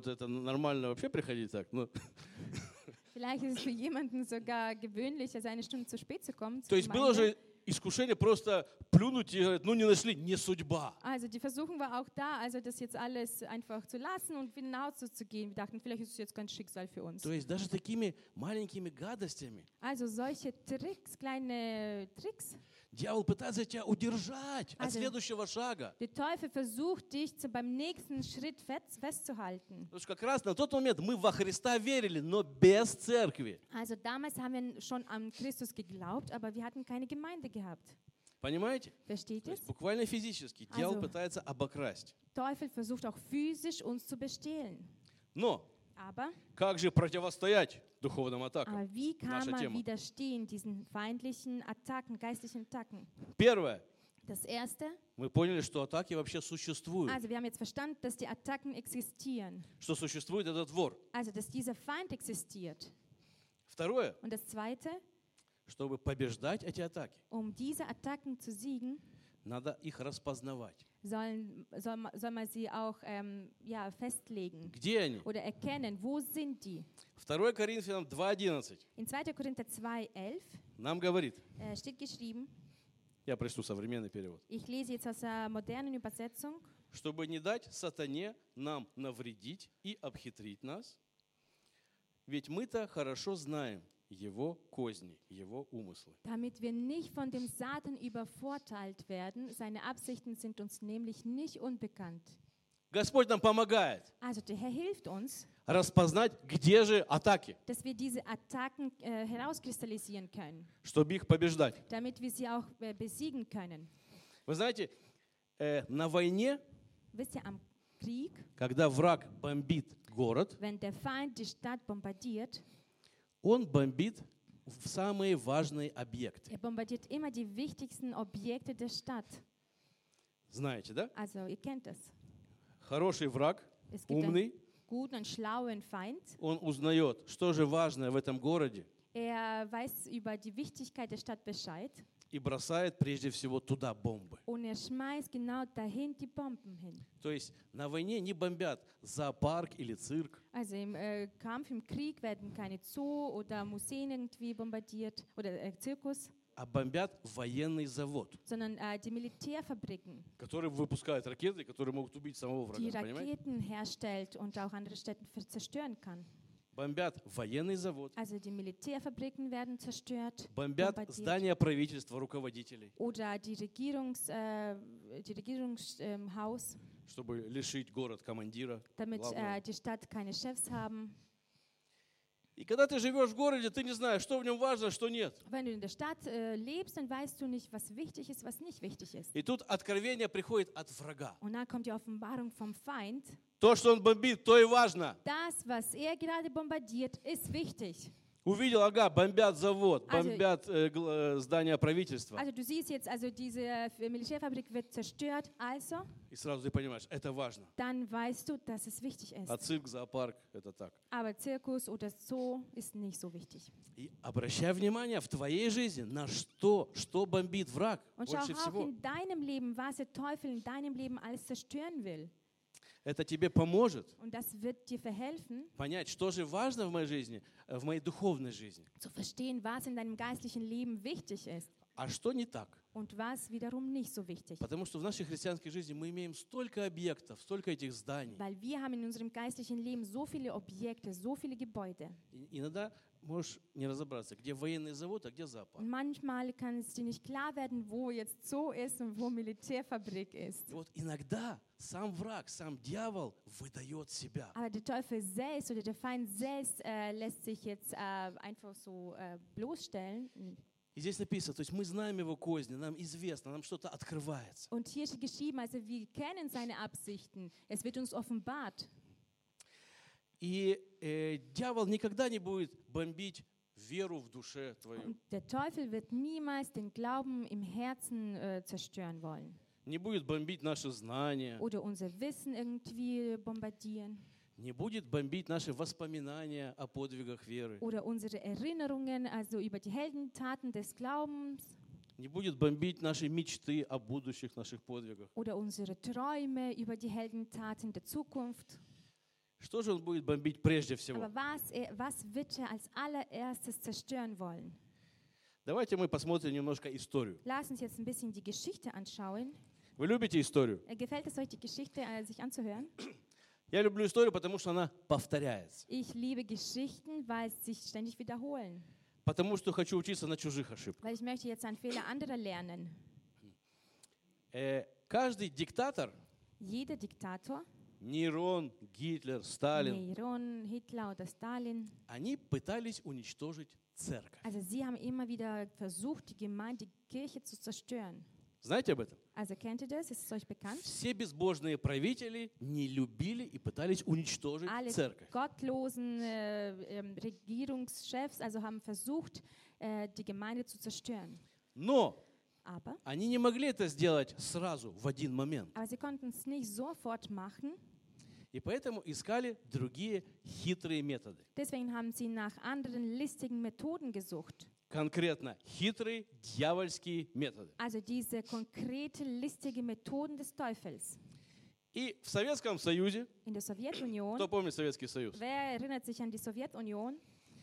кого-то это нормально вообще приходить так. Ну. Vielleicht ist es für jemanden sogar gewöhnlich, also eine Stunde zu spät zu kommen. То есть было же искушение просто плюнуть и говорить, ну не нашли, не судьба. Also die Versuchung war auch da, also das jetzt alles einfach zu lassen und wieder nach Hause zu gehen. Wir dachten, vielleicht ist es jetzt ganz Schicksal für uns. То есть даже такими маленькими гадостями Also solche Tricks, kleine Tricks. дьявол пытается тебя удержать от Also, следующего шага. Der Teufel versucht dich beim nächsten Schritt festzuhalten. Потому что как раз на тот момент мы во Христа верили, но без церкви. Also damals haben wir schon an Christus geglaubt, aber wir hatten keine Gemeinde gehabt. Понимаете? Versteht То ihr? есть буквально физически дьявол Also, пытается обокрасть. Teufel versucht auch physisch uns zu bestehlen. Но Aber как же противостоять духовным атакам? wie kann Наша man тема. widerstehen diesen feindlichen Attacken, geistlichen Attacken? Первое. Das Erste, Мы поняли, что атаки вообще существуют. also wir haben jetzt verstanden, dass die Attacken existieren. Что существует этот вор. Also, dass dieser Feind existiert. Второе. Und das Zweite, Чтобы побеждать эти атаки, diese Attacken zu siegen, надо их распознавать. soll man sie auch festlegen Где они? oder erkennen, wo sind die? 2 Коринфянам 2:11 In 2. Korinther 2,11 нам говорит, steht geschrieben, я прочту современный перевод, ich lese jetzt aus der modernen Übersetzung, чтобы не дать сатане нам навредить и обхитрить нас, ведь мы-то хорошо знаем его козни, его умыслы. damit wir nicht von dem Satan übervorteilt werden. Seine Absichten sind uns nämlich nicht unbekannt. Господь нам помогает Also der Herr hilft uns, распознать, где же атаки, dass wir diese Attacken herauskristallisieren können, чтобы их побеждать. damit wir sie auch besiegen können. Вы знаете, на войне, Wisst ihr, am Krieg, когда враг бомбит город, wenn der Feind die Stadt bombardiert, он бомбит в самые важные объекты. bombardiert immer die wichtigsten Objekte der Stadt. Знаете, да? Also ihr kennt es. Хороший враг, Es gibt умный, einen guten und schlauen Feind. он узнает, что же важное в этом городе, Weiß über die Wichtigkeit der Stadt Bescheid и бросает прежде всего туда бомбы. und schmeißt genau dahin die Bomben hin. То есть на войне не бомбят зоопарк или цирк, Also im Kampf, im Krieg werden keine Zoo oder Museen irgendwie bombardiert oder Zirkus, а бомбят военный завод, sondern die Militärfabriken, который выпускает ракеты, которые могут убить самого die врага. Понимаете? Raketen herstellt und auch andere Städte zerstören kann. Бомбят военный завод, Also die Militärfabriken werden zerstört, бомбят bombardiert. здания правительства, руководителей, Oder die Regierungshaus, чтобы лишить город командира. damit главного. die Stadt keine Chefs haben. И когда ты живешь в городе, ты не знаешь, что в нем важно, что нет. Wenn du in der Stadt lebst, dann weißt du nicht, was wichtig ist, was nicht wichtig ist. И тут откровение приходит от врага. Und dann kommt die Offenbarung vom Feind. То, что он бомбит, то и важно. Das, was er gerade bombardiert, ist wichtig. Увидел, ага, бомбят завод, Also- бомбят здание правительства. Also du siehst jetzt, also diese Militärfabrik wird zerstört, also И сразу ты понимаешь, это важно. dann weißt du, dass es wichtig ist. А цирк, зоопарк, это так. Aber Zirkus oder Zoo ist nicht so wichtig. И обращай внимание в твоей жизни на что бомбит враг Und schau больше auch всего. in deinem Leben, was der Teufel in deinem Leben alles zerstören will. Это тебе поможет Und das wird dir verhelfen, понять, что же важно в моей жизни, в моей духовной жизни, zu verstehen, was in deinem geistlichen Leben wichtig ist а что не так. und was wiederum nicht so wichtig. Потому что в нашей христианской жизни мы имеем столько объектов, столько этих зданий. Weil wir haben in unserem geistlichen Leben so viele Objekte, so viele Gebäude. И иногда можешь не разобраться, где военный завод, а где зоопарк. Und manchmal kann es dir nicht klar werden, wo jetzt Zoo ist und wo Militärfabrik ist. И вот иногда сам враг, сам дьявол выдает себя. Aber der Teufel selbst oder der Feind selbst lässt sich jetzt einfach so bloßstellen. И здесь написано, то есть мы знаем его козни, нам известно, нам что-то открывается. Und hier steht geschrieben, also wir kennen seine Absichten. Es wird uns offenbart. И дьявол никогда не будет бомбить веру в душе твою. Und der Teufel wird niemals den Glauben im Herzen zerstören wollen. Не будет бомбить наши знания, Oder unser Wissen irgendwie bombardieren. не будет бомбить наши воспоминания о подвигах веры, Oder unsere Erinnerungen, also über die Heldentaten des Glaubens. не будет бомбить наши мечты о будущих наших подвигах. Oder unsere Träume über die Heldentaten der Zukunft. Что же он будет бомбить прежде всего? Aber was wird er als allererstes zerstören wollen? Давайте мы посмотрим немножко историю. Lass uns jetzt ein bisschen die Geschichte anschauen. Вы любите историю? Gefällt es euch, die Geschichte sich anzuhören? Я люблю историю, потому что она повторяется. Ich liebe Geschichten, weil sie sich ständig wiederholen. Потому что хочу учиться на чужих ошибках. Weil ich möchte jetzt an Fehler anderer lernen. Каждый диктатор, Jeder Diktator, Нерон, Гитлер, Сталин, Neron, Hitler oder Stalin, они пытались уничтожить церковь. also sie haben immer wieder versucht, die Gemeinde, die Kirche zu zerstören. Знаете об этом? Also kennt ihr das? Ist es euch bekannt? Все безбожные правители не любили и пытались уничтожить Alle церковь. gottlosen Regierungschefs also haben versucht, die Gemeinde zu zerstören. Но Aber они не могли это сделать сразу, в один момент. sie konnten es nicht sofort machen. И поэтому искали другие хитрые методы. Deswegen haben sie nach anderen listigen Methoden gesucht. Конкретно хитрые дьявольские методы. Also diese konkrete listige Methoden des Teufels. И в Советском Союзе, In der Sowjetunion, кто помнит Советский Союз, wer erinnert sich an die Sowjetunion?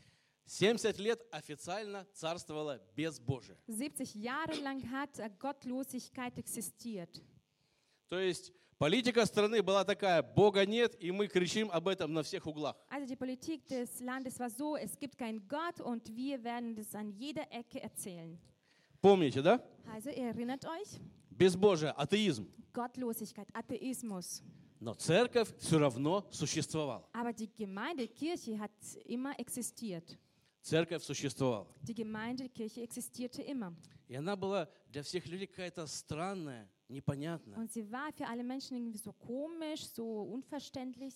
70 лет официально царствовало безбожие. 70 Jahre lang hat Gottlosigkeit existiert. То есть политика страны была такая: Бога нет, и мы кричим об этом на всех углах. Also die Politik des Landes war so, es gibt keinen Gott und wir werden das an jeder Ecke erzählen. Помните, да? Also ihr erinnert euch? Безбожие, атеизм. Gottlosigkeit, Atheismus. Но церковь все равно существовала. Aber die Gemeinde, Kirche hat immer existiert. Церковь существовала. Die Gemeinde, Kirche existierte immer. И она была для всех людей какая-то странная, непонятная. Und sie war für alle Menschen irgendwie so komisch, so unverständlich.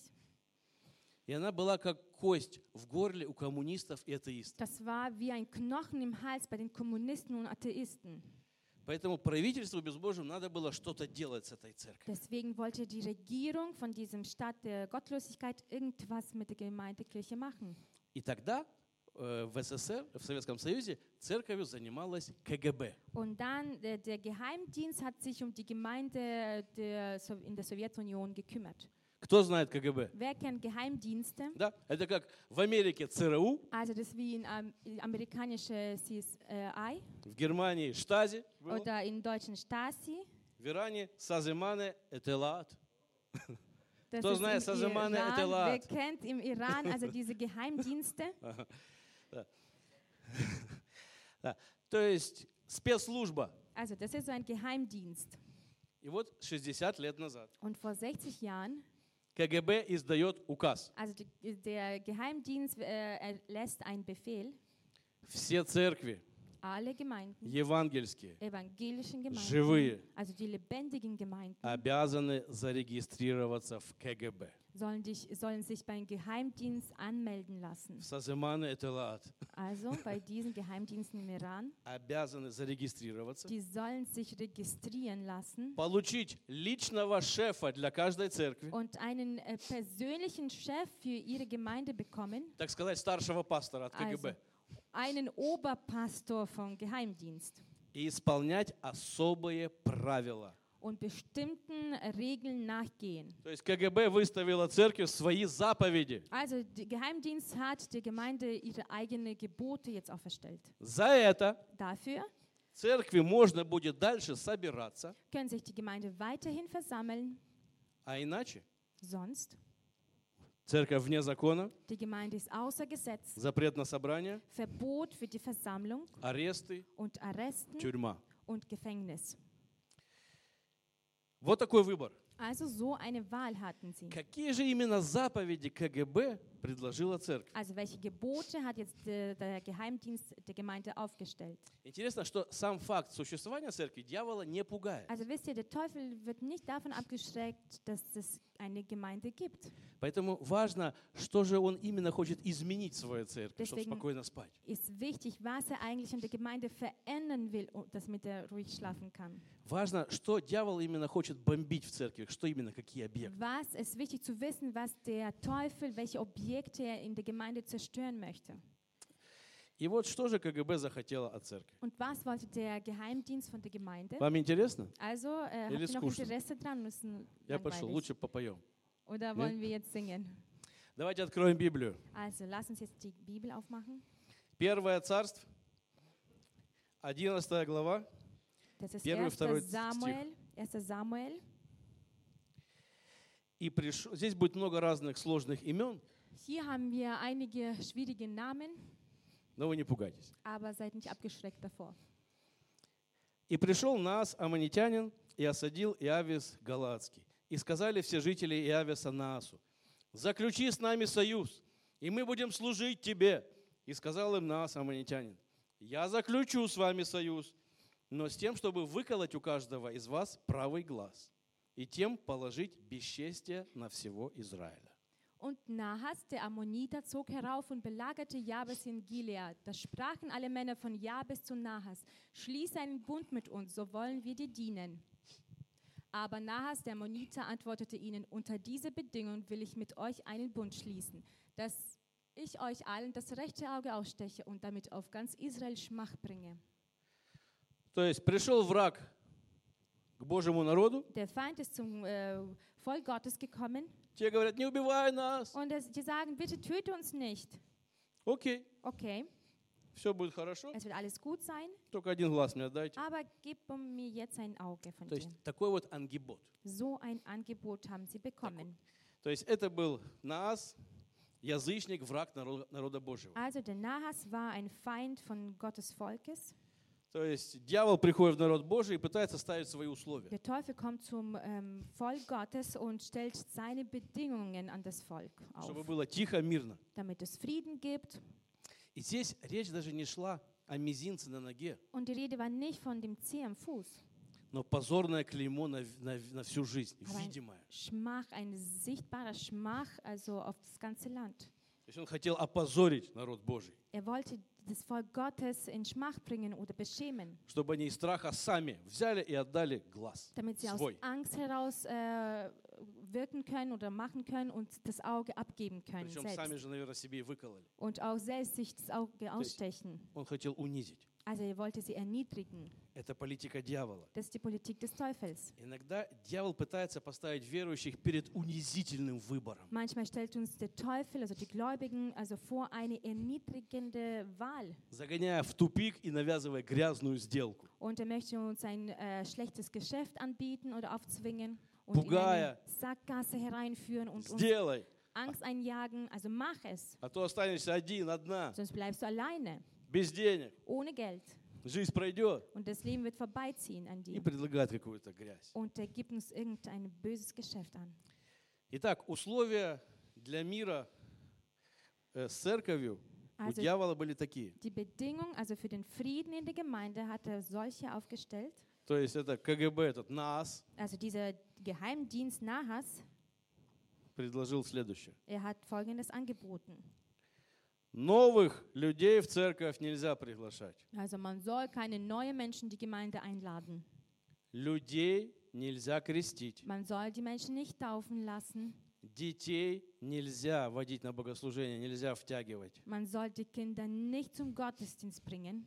И она была как кость в горле у коммунистов и атеистов. Das war wie ein Knochen im Hals bei den Kommunisten und Atheisten. Поэтому правительству безбожьему надо было что-то делать с этой церковью. Deswegen wollte die Regierung von diesem Staat der Gottlosigkeit irgendwas mit der Gemeindekirche machen. И тогда в СССР, в Советском Союзе, церковью занималась КГБ. Und dann der Geheimdienst hat sich um die Gemeinde in der Sowjetunion gekümmert. Кто знает КГБ? Wer kennt Geheimdienste? Да, это как в Америке ЦРУ, Also das ist wie in amerikanische CSI в Германии Штази, было, oder in deutschen Stasi. в Иране Саземане Этелаат. Das Кто знает ist im Саземане Iran. Wer Этелаат? kennt im Iran also diese Geheimdienste? Да. То есть спецслужба. Also das ist so ein Geheimdienst. И вот 60 лет назад Und vor 60 Jahren, КГБ издает указ. also der Geheimdienst erlässt einen Befehl, Все церкви alle Gemeinden, евангельские, evangelischen Gemeinden, живые, also die lebendigen Gemeinden, обязаны зарегистрироваться в КГБ. sollen sich beim Geheimdienst anmelden lassen. В Саземане Этелаат. Also bei diesen Geheimdiensten im Iran, Обязаны зарегистрироваться. die sollen sich registrieren lassen Получить личного шефа для каждой церкви. und einen persönlichen Chef für ihre Gemeinde bekommen, Так сказать, старшего пастора от also КГБ. einen Oberpastor vom Geheimdienst И исполнять особые правила. und bestimmten Regeln nachgehen. То есть КГБ выставила церкви свои заповеди. Also der Geheimdienst hat der Gemeinde ihre eigenen Gebote jetzt auferstellt. За это Dafür церкви можно будет дальше собираться, können sich die Gemeinde weiterhin versammeln, а иначе sonst церковь вне закона, die Gemeinde ist außer Gesetz, запрет на собрание, Verbot für die Versammlung аресты, und Arresten тюрьма. und Gefängnis. Вот такой выбор. Also so eine Wahl hatten sie. Какие же именно заповеди КГБ предложила церковь? Also welche Gebote hat jetzt der Geheimdienst der Gemeinde aufgestellt? Интересно, что сам факт существования церкви дьявола не пугает. Also wisst ihr, der Teufel wird nicht davon abgeschreckt, dass es eine Gemeinde gibt. Поэтому важно, что же он именно хочет изменить в своей церкви, чтобы Deswegen спокойно спать. Ist wichtig, was er eigentlich in der Gemeinde verändern will, damit er ruhig schlafen kann. Важно, что дьявол именно хочет бомбить в церкви, что именно, какие объекты. Was ist wichtig zu wissen, was der Teufel, welche Objekte er in der Gemeinde zerstören möchte. И вот что же КГБ захотела от церкви? Und was wollte der Geheimdienst von der Gemeinde? Вам интересно? Also, habt Или ihr noch скучно? Interesse dran? Müssen Я пошел, langweilig. лучше попоем. Oder wollen wir jetzt singen? Давайте откроем Библию. Also, lass uns jetzt die Bibel aufmachen. Первое царство, 11 глава. Das ist Первый, 1. второй Samuel. 1. Samuel. И здесь будет много разных сложных имен, Hier haben wir einige schwierige Namen, но вы не пугайтесь. aber seid nicht abgeschreckt davor. «И пришел Наас, аммонитянин, и осадил Иавис Галаадский. И сказали все жители Иависа Наасу: заключи с нами союз, и мы будем служить тебе. И сказал им Наас, аммонитянин: я заключу с вами союз, но с тем, чтобы выколоть у каждого из вас правый глаз, и тем положить бесчестие на всего Израиля». Und Nahas, der Ammoniter, zog herauf und belagerte Jabes in Gilead. Da sprachen alle Männer von Jabes zu Nahas: schließ einen Bund mit uns, so wollen wir dir dienen. Aber Nahas, der Ammoniter, antwortete ihnen: unter diese Bedingung will ich mit euch einen Bund schließen, dass ich euch allen das rechte Auge aussteche und damit auf ganz Israel Schmach bringe. То есть пришел враг к Божьему народу, Der Feind ist zum Volk Gottes gekommen те говорят: не убивай нас. und die sagen: bitte töte uns nicht. Окей, Okay, все будет хорошо, es wird alles gut sein, только один глаз мне отдайте. aber gib mir jetzt ein Auge von То есть dir. такой вот ангибот. So ein Angebot haben sie bekommen. То есть это был Наас, язычник, враг народа Божьего. Also der Nahas war ein Feind von Gottes Volkes. То есть дьявол приходит в народ Божий и пытается ставить свои условия. Der Teufel kommt zum Volk Gottes und stellt seine Bedingungen an das Volk Чтобы auf, было тихо, мирно. damit es Frieden gibt. И здесь речь даже не шла о мизинце на ноге, Und die Rede war nicht von dem Zeh am Fuß, но позорное клеймо на всю жизнь, aber ein видимое. Schmach, ein sichtbarer Schmach, also auf das ganze Land. То есть он хотел опозорить народ Божий, Er wollte das Volk Gottes in Schmach bringen oder beschämen, чтобы они из страха сами взяли и отдали глаз damit sie aus свой. Angst heraus wirken können oder machen können und das Auge abgeben können Причем сами selbst. же, наверное, себе и выкололи. Und auch selbst sich das Auge ausstechen. Он хотел унизить. Also er wollte sie erniedrigen. Это политика дьявола. Das ist die Politik des Teufels. Иногда дьявол пытается поставить верующих перед унизительным выбором. Manchmal stellt uns der Teufel, also die Gläubigen, also vor eine erniedrigende Wahl. Загоняя в тупик и навязывая грязную сделку. Und er möchte uns ein schlechtes Geschäft anbieten oder aufzwingen und Пугая. in eine Sackgasse hereinführen und uns Сделай, Angst einjagen. Also mach es, а то останешься один, одна, sonst bleibst du alleine, без денег. ohne Geld. Жизнь пройдет. Und das Leben wird vorbeiziehen an И dir. предлагает какую-то грязь. Und er gibt uns irgendein böses Geschäft an. Итак, условия для мира с церковью у Also дьявола были такие. die Bedingung, also für den Frieden in der Gemeinde, hat er solche aufgestellt. То есть это КГБ, этот НААС, Also dieser Geheimdienst Nahas, предложил следующее. er hat Folgendes angeboten. Новых людей в церковь нельзя приглашать. Also man soll keine neuen Menschen in die Gemeinde einladen. Людей нельзя крестить. Man soll die Menschen nicht taufen lassen. Детей нельзя водить на богослужение, нельзя втягивать. Man soll die Kinder nicht zum Gottesdienst bringen.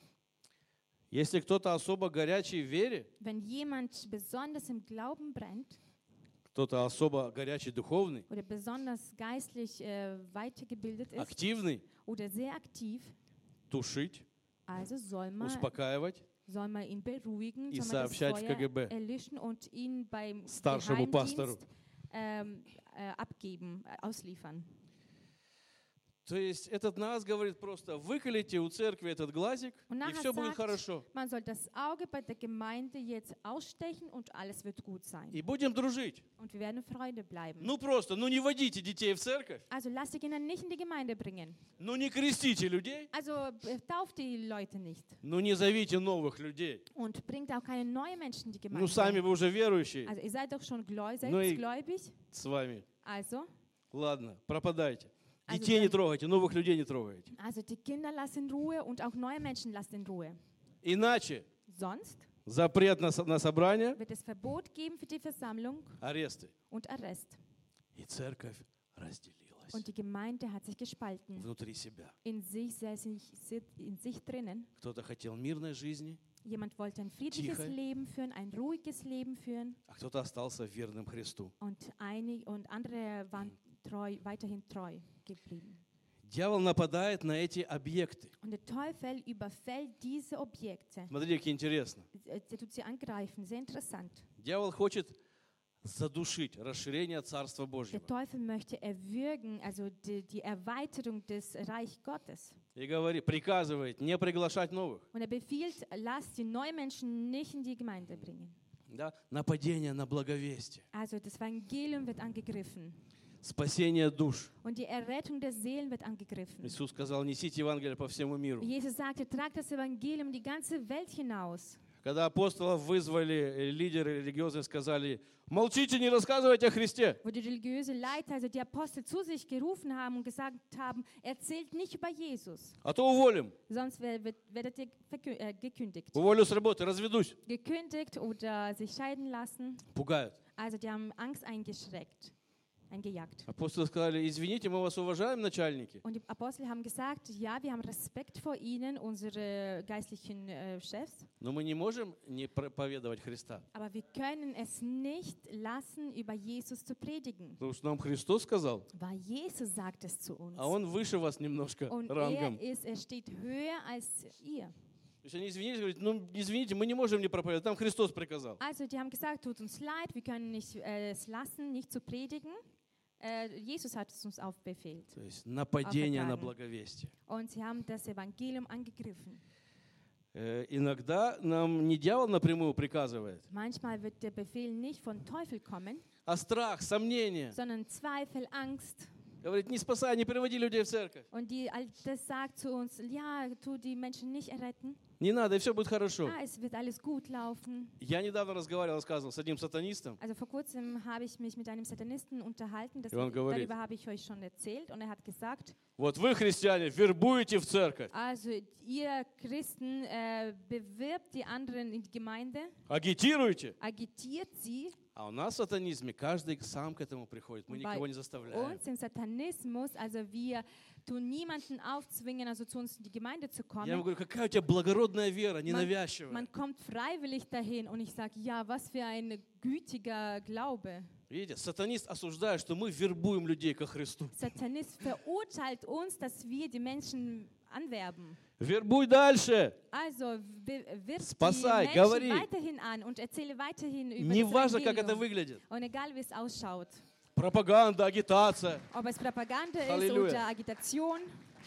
Если кто-то особо горячий в вере, Wenn jemand besonders im Glauben brennt кто-то особо горячий духовный, oder besonders geistlich weitergebildet ist активный, oder sehr aktiv, тушить, also soll man ihn beruhigen, и soll man das сообщать в Feuer КГБ erlischen und ihn beim старшему пастору. Geheimdienst abgeben, ausliefern. То есть этот нас говорит просто: выколите у церкви этот глазик, Und и nachher все будет sagt, хорошо. man soll das Auge bei der Gemeinde jetzt ausstechen und alles wird gut sein. И будем дружить. Und wir werden Freunde bleiben. Ну просто, ну не водите детей в церковь, Also lasst die Kinder nicht in die Gemeinde bringen. ну не крестите людей, Also tauft die Leute nicht. ну не зовите новых людей. Und bringt auch keine neuen Menschen in die Ну Gemeinde. сами вы уже верующие Also ihr seid doch schon Ну и- gläubig. с вами. Also Ладно, пропадайте. Also Детей не dann- трогайте, новых людей не трогайте. die Kinder lasst in Ruhe und auch neue Menschen lasst in Ruhe. Иначе Sonst запрет на собрание, wird es Verbot geben für die Versammlung аресты. und Arrest. И церковь разделилась Und die Gemeinde hat sich gespalten. внутри себя. In sich drinnen. Кто-то хотел мирной жизни, Jemand wollte ein friedliches Tiefe. Leben führen, ein ruhiges Leben führen. а кто-то остался верным Христу. Und andere waren weiterhin treu geblieben. Дьявол нападает на эти объекты. Und der Teufel überfällt diese Objekte. Смотрите, как интересно. Er tut sie angreifen. Sehr interessant. Дьявол хочет задушить расширение Царства Der Божьего. Teufel möchte erwürgen, also die Erweiterung des Reich Gottes. И говорит, приказывает не приглашать новых. Und er befiehlt, lasst die neuen Menschen nicht in die Gemeinde bringen. Да? Нападение на благовестие. Also das Evangelium wird angegriffen. Спасение душ. Und die Errettung der Seelen wird angegriffen. Иисус сказал, несите Евангелие по всему миру. Jesus sagte, tragt das Evangelium die ganze Welt hinaus. Когда апостолов вызвали, лидеры религиозные сказали, молчите, не рассказывайте о Христе. Wo die religiöse Leiter, also die Apostel, zu sich gerufen haben und gesagt haben, erzählt nicht über Jesus, А то уволим. sonst werdet ihr gekündigt. Уволю с работы, разведусь. Gekündigt oder sich scheiden lassen. Пугают. Also die haben Angst eingejagt. Апостолы сказали, извините, мы вас уважаем, начальники. Und die Apostel haben gesagt, ja, wir haben Respekt vor ihnen, unsere geistlichen Chefs, Но мы не можем не проповедовать Христа. aber wir können es nicht lassen, über Jesus zu predigen. Потому что нам Христос сказал, Weil Jesus sagt es zu uns. а Он выше вас немножко Und рангом. er steht höher als ihr. То есть они извинились, говорят, ну извините, мы не можем не проповедовать, там Христос приказал. Also die haben gesagt, tut uns leid, wir können nicht es lassen, nicht zu predigen. Jesus hat es uns aufbefehlt. То есть нападение на Aufgetragen. благовестие. Und sie haben das Evangelium angegriffen. Иногда нам не дьявол напрямую приказывает, Manchmal wird der Befehl nicht von Teufel kommen, а страх, сомнение. sondern Zweifel, Angst. Говорит, не спасай, не приводи людей в церковь. Und das sagt zu uns, ja, tu die Menschen nicht erretten. Не надо, и все будет хорошо. Es wird alles gut laufen. Я недавно разговаривал, рассказывал с одним сатанистом. Also vor kurzem habe ich mich mit einem Satanisten unterhalten, говорит, darüber habe ich euch schon erzählt. Und er hat gesagt, вот вы, христиане, вербуете в церковь, also ihr Christen bewirbt die anderen in die Gemeinde, агитируете. agitiert sie. А у нас в сатанизме каждый сам к этому приходит. Мы никого не заставляем. Uns im Satanismus, also wir tun niemanden aufzwingen, also zu uns in die Gemeinde zu Я ему kommen. говорю, какая у тебя благородная вера, ненавязчивая. Man kommt freiwillig dahin und ich sage, ja, was für ein gütiger Glaube. Видите, сатанист осуждает, что мы вербуем людей ко Христу. Satanist verurteilt uns, dass wir die Menschen anwerben. Вербуй дальше. Also wirf Спасай, die говори. Menschen weiterhin an und erzähle weiterhin über Не das важно, как это Evangelium. выглядит. Und egal, wie es ausschaut. Пропаганда, агитация. Ob es Propaganda ist Halleluja. oder Agitation.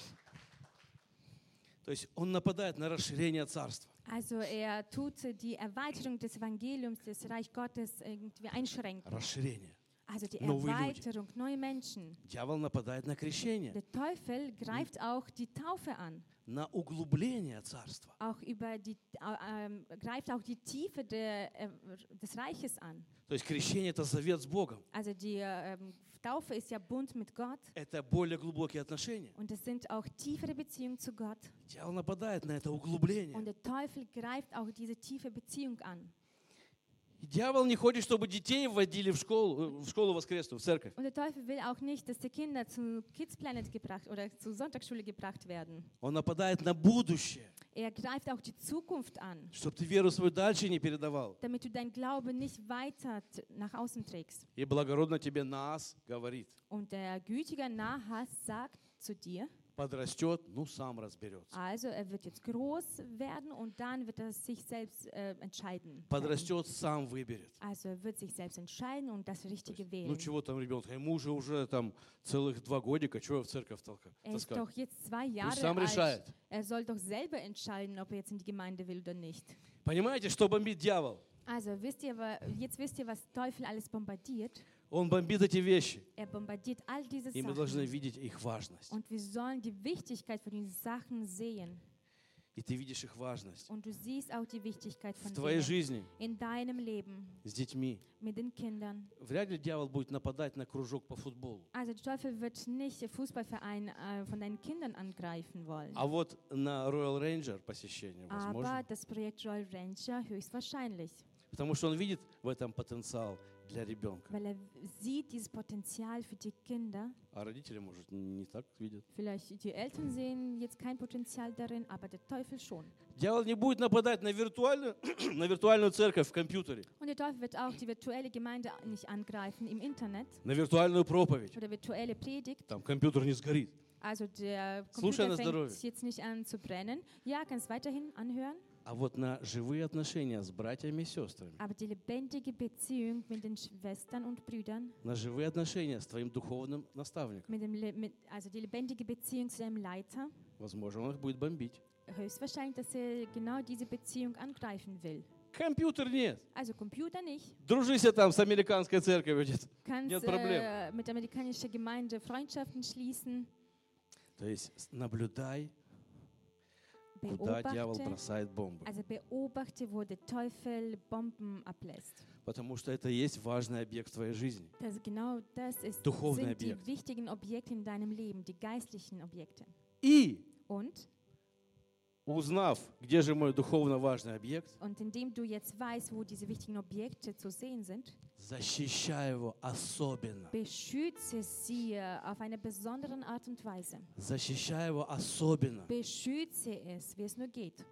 То есть он нападает на расширение царства. Also er tut die Erweiterung des Evangeliums, des Reich Gottes irgendwie einschränken. Расширение. Also die Новые люди. Erweiterung, neue Menschen. Дьявол нападает на крещение, Der Teufel greift auch die Taufe an. на углубление царства. Auch greift auch die Tiefe des Reiches an. То есть крещение – это завет с Богом. Also die Taufe ist ja Bund mit Gott Это более глубокие отношения. und es sind auch tiefere Beziehungen zu Gott. Дьявол нападает на это углубление. Und der Teufel greift auch diese tiefe Beziehung an. И дьявол не хочет, чтобы детей вводили в школу воскресную, в церковь. Und der Teufel will auch nicht, dass die Kinder zu Kids Planet gebracht oder zur Sonntagsschule gebracht werden. Он нападает на будущее, Er greift auch die Zukunft an, чтобы ты веру свою дальше не передавал. damit du dein Glaube nicht weiter nach außen trägst. И благородно тебе Наас говорит, Und der gütige Nahas sagt zu dir, подрастет, ну сам разберется. also er wird jetzt groß werden und dann wird er sich selbst entscheiden. Подрастет, сам выберет. Also er wird sich selbst entscheiden und das Richtige Ну wählen. чего там ребенка, ему уже там целых 2 годика, чего его в церковь Er ist таскать? doch jetzt 2 Пусть сам Jahre решает. alt. Er soll doch selber entscheiden, ob er jetzt in die Gemeinde will oder nicht. Понимаете, что бомбит дьявол? Also wisst ihr, was Teufel alles bombardiert? Он бомбит эти вещи. Er bombardiert all diese И мы должны Sachen. видеть их важность. Und wir sollen die Wichtigkeit von diesen Sachen sehen. И ты видишь их важность Und du siehst auch die Wichtigkeit в von твоей denen жизни in deinem Leben, с детьми. mit den Kindern. Вряд ли дьявол будет нападать на кружок по футболу. Also der Teufel wird nicht den Fußballverein von deinen Kindern angreifen wollen. А вот на Royal Ranger посещение Aber возможно. das Projekt Royal Ranger höchstwahrscheinlich. Потому что он видит в этом потенциал для ребенка. weil er sieht dieses Potenzial für die Kinder. А родители, может, не так видят. Vielleicht die Eltern sehen jetzt kein Potenzial darin, aber der Teufel schon. Дьявол не будет нападать на виртуальную, на виртуальную церковь в компьютере, Und der Teufel wird auch die virtuelle Gemeinde nicht angreifen im Internet на виртуальную проповедь. oder virtuelle Predigt. Там компьютер не сгорит. Also der Слушай на Computer здоровье. fängt jetzt nicht an zu brennen. Ja, kannst weiterhin anhören. А вот на живые отношения с братьями и сестрами, Aber die lebendige Beziehung mit den Schwestern und Brüdern, на живые отношения с твоим духовным наставником, also die lebendige Beziehung zu einem Leiter, возможно, он их будет бомбить. höchstwahrscheinlich, dass er genau diese Beziehung angreifen will. Компьютер нет. Also Computer nicht. Дружись там с американской церковью. Kannst Нет проблем. mit der amerikanischen Gemeinde Freundschaften schließen. То есть наблюдай, куда дьявол Beobachte, бросает бомбы. also beobachte, wo der Teufel Bomben ablässt. Потому что это и есть важный объект в твоей жизни. Genau das Духовный sind die объект. wichtigen Objekte in deinem Leben, die geistlichen Objekte. И Und узнав, где же мой духовно важный объект, indem du jetzt weißt, wo diese wichtigen Objekte zu sehen sind, защищай его особенно. beschütze sie auf eine besondere Art und Weise. Защищай его особенно. Beschütze es, wie es nur geht.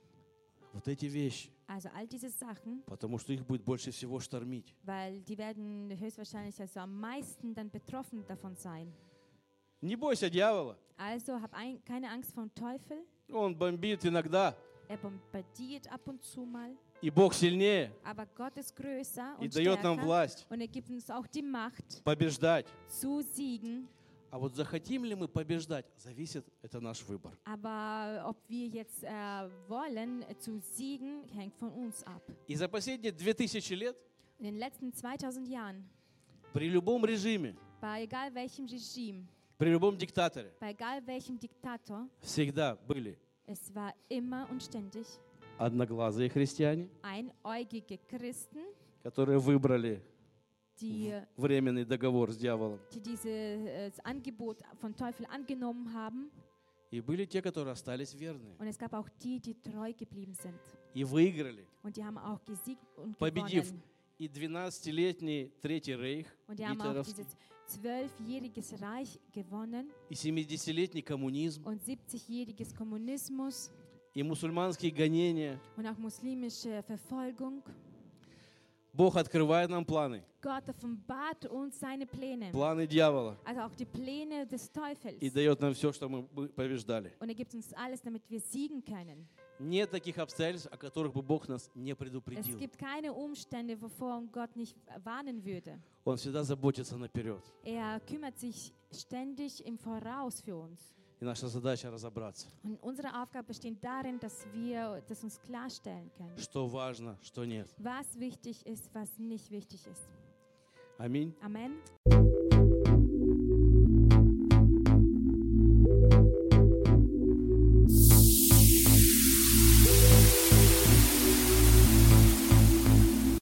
Вот эти вещи. Also all diese Sachen, Потому что их будет больше всего штормить. weil die werden höchstwahrscheinlich also am meisten dann betroffen davon sein. Не бойся дьявола. Also hab keine Angst vor dem Teufel. Он бомбит иногда. Er bombardiert ab und zu mal. И Бог сильнее. Aber Gott ist größer И und дает нам stärker. власть Und er gibt uns auch die Macht побеждать. zu siegen. А вот захотим ли мы побеждать, зависит, это наш выбор. Aber ob wir jetzt wollen zu siegen, hängt von uns ab. И за последние 2000 лет In den letzten 2000 Jahren, при любом режиме, bei egal welchem Regime, при любом диктаторе bei egal welchem Diktator, всегда были es war immer und ständig одноглазые христиане, einäugige Christen, которые выбрали die временный договор с дьяволом. dieses Angebot von Teufel angenommen haben. И были те, которые остались верны. Und es gab auch die, die treu geblieben sind. И выиграли. Und die haben auch gesiegt und Победив gewonnen. и 12-летний Третий Рейх Und die haben auch гитлеровский, dieses 12-jähriges Reich gewonnen и 70-летний коммунизм, und 70-jähriges Kommunismus и мусульманские гонения. und auch muslimische Verfolgung. Бог открывает нам планы. Gott offenbart uns seine Pläne, Планы дьявола. also auch die Pläne des Teufels. И дает нам все, что мы побеждали. Und er gibt uns alles, damit wir siegen können. Нет таких обстоятельств, о которых бы Бог нас не Es предупредил. gibt keine Umstände, wovor Gott nicht warnen würde. Он всегда заботится наперед. Er kümmert sich ständig im Voraus für uns. И наша задача разобраться, Und unsere Aufgabe besteht darin, dass wir das uns klarstellen können, что важно, что нет. was wichtig ist, was nicht wichtig ist. Аминь. Amen.